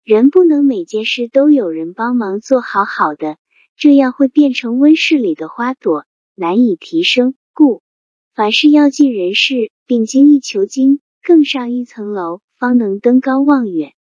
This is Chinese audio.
人不能每件事都有人帮忙做好好的，这样会变成温室里的花朵，难以提升。故凡事要尽人事，并精益求精，更上一层楼，方能登高望远。